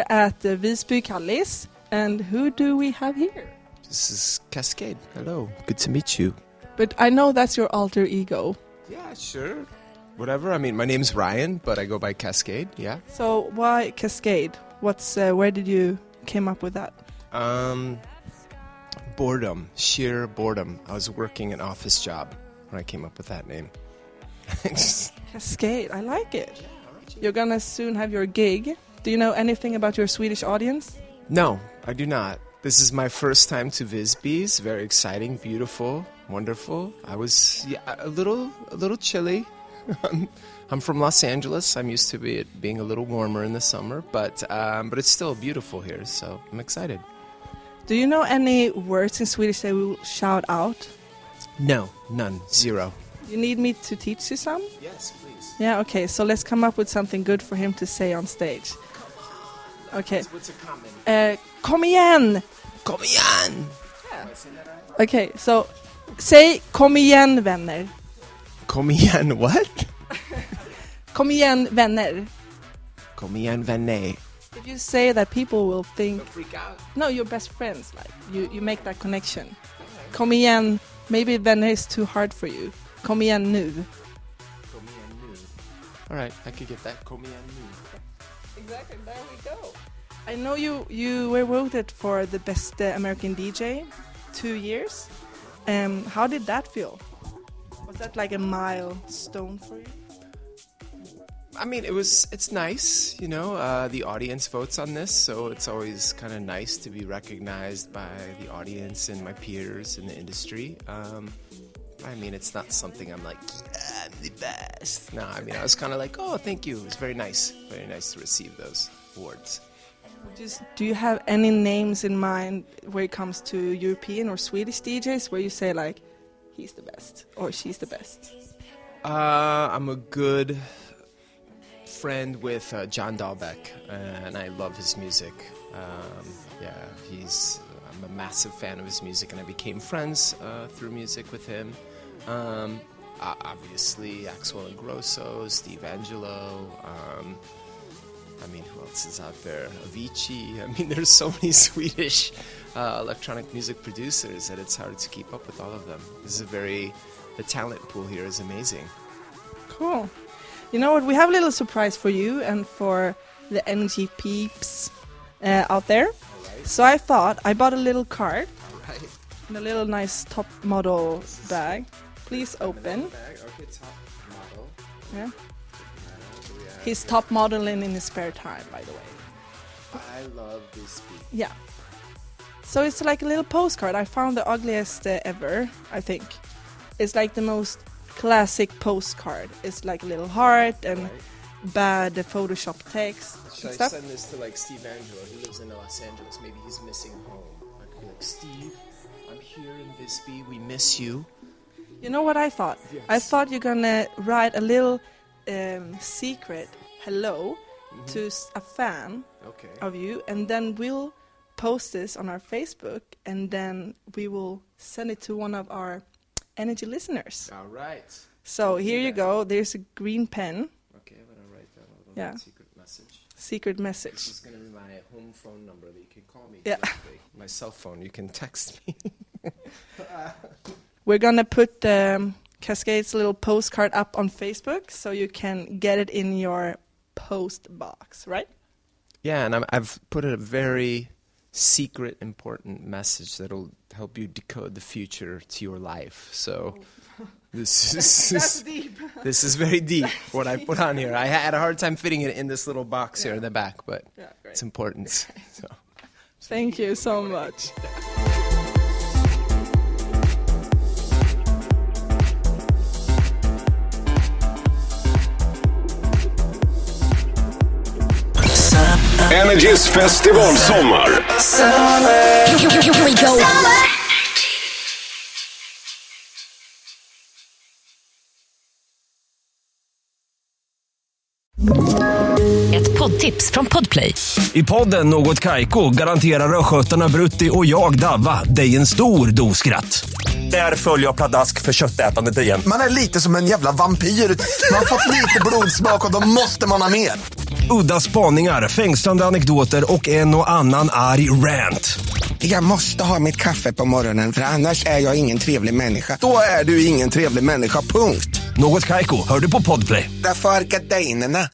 at Visby Kallis. And who do we have here? This is Cascade. Hello. Good to meet you. But I know that's your alter ego. Yeah, sure. Whatever. I mean, my name's Ryan, but I go by Cascade, yeah. So why Cascade? Where did you came up with that? Boredom. Sheer boredom. I was working an office job when I came up with that name. Cascade. I like it. You're gonna soon have your gig. Do you know anything about your Swedish audience? No, I do not. This is my first time to Visby. It's very exciting, beautiful, wonderful. I was a little chilly. I'm from Los Angeles. I'm used to it being a little warmer in the summer, but it's still beautiful here, so I'm excited. Do you know any words in Swedish that we will shout out? No, none, zero. You need me to teach you some? Yes, please. Yeah, okay, so let's come up with something good for him to say on stage. Okay. What's a comment? Kom igen! Kom igen! Yeah. Okay, so say kom igen vänner. Kom igen, what? Kom igen vänner. Kom igen vänner. If you say that, people will think... Don't freak out. No, you're best friends. Like you make that connection. Okay. Kom igen. Maybe vänner is too hard for you. Kom igen nu. Kom igen nu. All right, I could get that. Kom igen nu. Exactly, there we go. I know you were voted for the best American DJ 2 years. How did that feel? Was that like a milestone for you? I mean, it's nice, you know, the audience votes on this, so it's always kind of nice to be recognized by the audience and my peers in the industry. I mean, it's not something I'm like, yeah, I'm the best. No, I mean, I was kind of like, oh, thank you. It was very nice to receive those awards. Do you have any names in mind where it comes to European or Swedish DJs where you say like, he's the best or she's the best? I'm a good friend with John Dahlbeck, and I love his music. I'm a massive fan of his music, and I became friends through music with him. Obviously, Axel Ingrosso, Steve Angelo. I mean, who else is out there? Avicii. I mean, there's so many Swedish electronic music producers that it's hard to keep up with all of them. The talent pool here is amazing. Cool. You know what? We have a little surprise for you and for the NG peeps out there. Right. So I bought a little card. All right. And a little nice top model bag. Please open. Okay, top model. Yeah. He's top modeling in his spare time, by the way. I love this piece. Yeah. So it's like a little postcard. I found the ugliest ever, I think. It's like the most classic postcard. It's like a little heart and bad Photoshop text. Should I send this to like Steve Angelo? He lives in Los Angeles. Maybe he's missing home. I could be like, Steve, I'm here in Visby. We miss you. You know what I thought? Yes. I thought you're gonna write a little secret hello to a fan of you, and then we'll post this on our Facebook, and then we will send it to one of our Energy listeners. All right. So here you go. There's a green pen. Okay, I'm gonna write down a little secret message. Secret message. This is gonna be my home phone number that you can call me. Yeah. Directly. My cell phone. You can text me. We're gonna put Cascade's little postcard up on Facebook, so you can get it in your post box, right? Yeah, and I've put a very secret, important message that'll help you decode the future to your life. So this is that's deep. This is very deep. What I put on here, I had a hard time fitting it in this little box here in the back, but it's important. So thank you so much. Energys festivalsommar. Here we go. Ett poddtips från Podplay. I podden Något Kaiko garanterar röskötarna Brutti och jag Davva dig en stor doskratt. Där följer jag pladask för köttätandet igen. Man är lite som en jävla vampyr. Man har fått lite blodsmak och då måste man ha mer. Udda spaningar, fängslande anekdoter och en och annan arg rant. Jag måste ha mitt kaffe på morgonen, för annars är jag ingen trevlig människa. Då är du ingen trevlig människa, punkt. Något Kaiko, hör du på Podplay. Därför är gardinerna.